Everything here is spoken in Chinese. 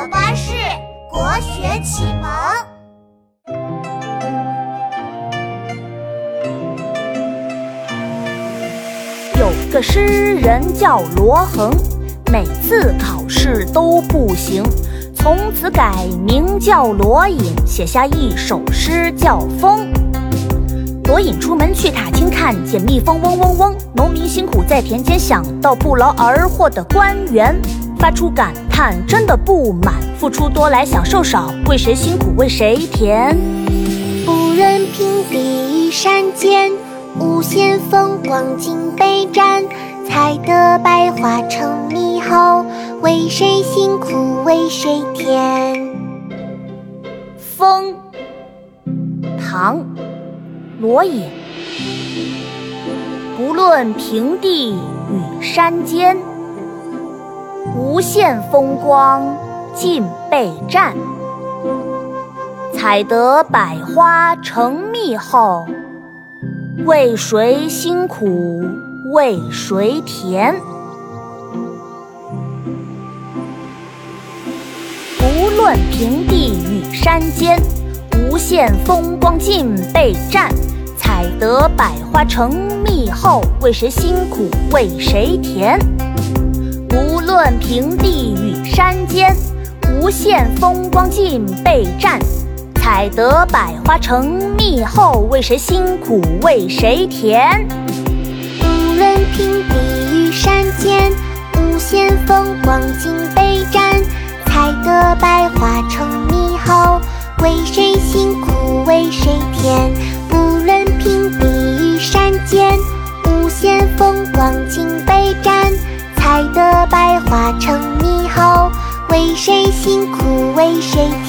巴士国学启蒙。 有个诗人叫罗衡，每次考试都不行，从此改名叫罗隐，写下一首诗叫《风》。罗隐出门去踏青，看见蜜蜂嗡嗡嗡，农民辛苦在田间，想到不劳而获的官员，发出感叹，真的不满，付出多来享受少，为谁辛苦为谁甜。 不论平地与山间，无限风光尽被占，采得百花成蜜后，为谁辛苦为谁甜。 风，唐，罗隐。不论平地与山间，无限风光尽被占，采得百花成蜜后，为谁辛苦为谁甜。不论平地与山间，无限风光尽被占，采得百花成蜜后，为谁辛苦为谁甜。无论平地与山间，无限风光尽被占，采得百花成蜜后，为谁辛苦为谁甜。 无论平地与山间，无限风光尽被占，采得百花成蜜后，为谁辛苦为谁甜。无论平地与山间，无限风光尽被占，采得百花成蜜后，为谁辛苦为谁甜。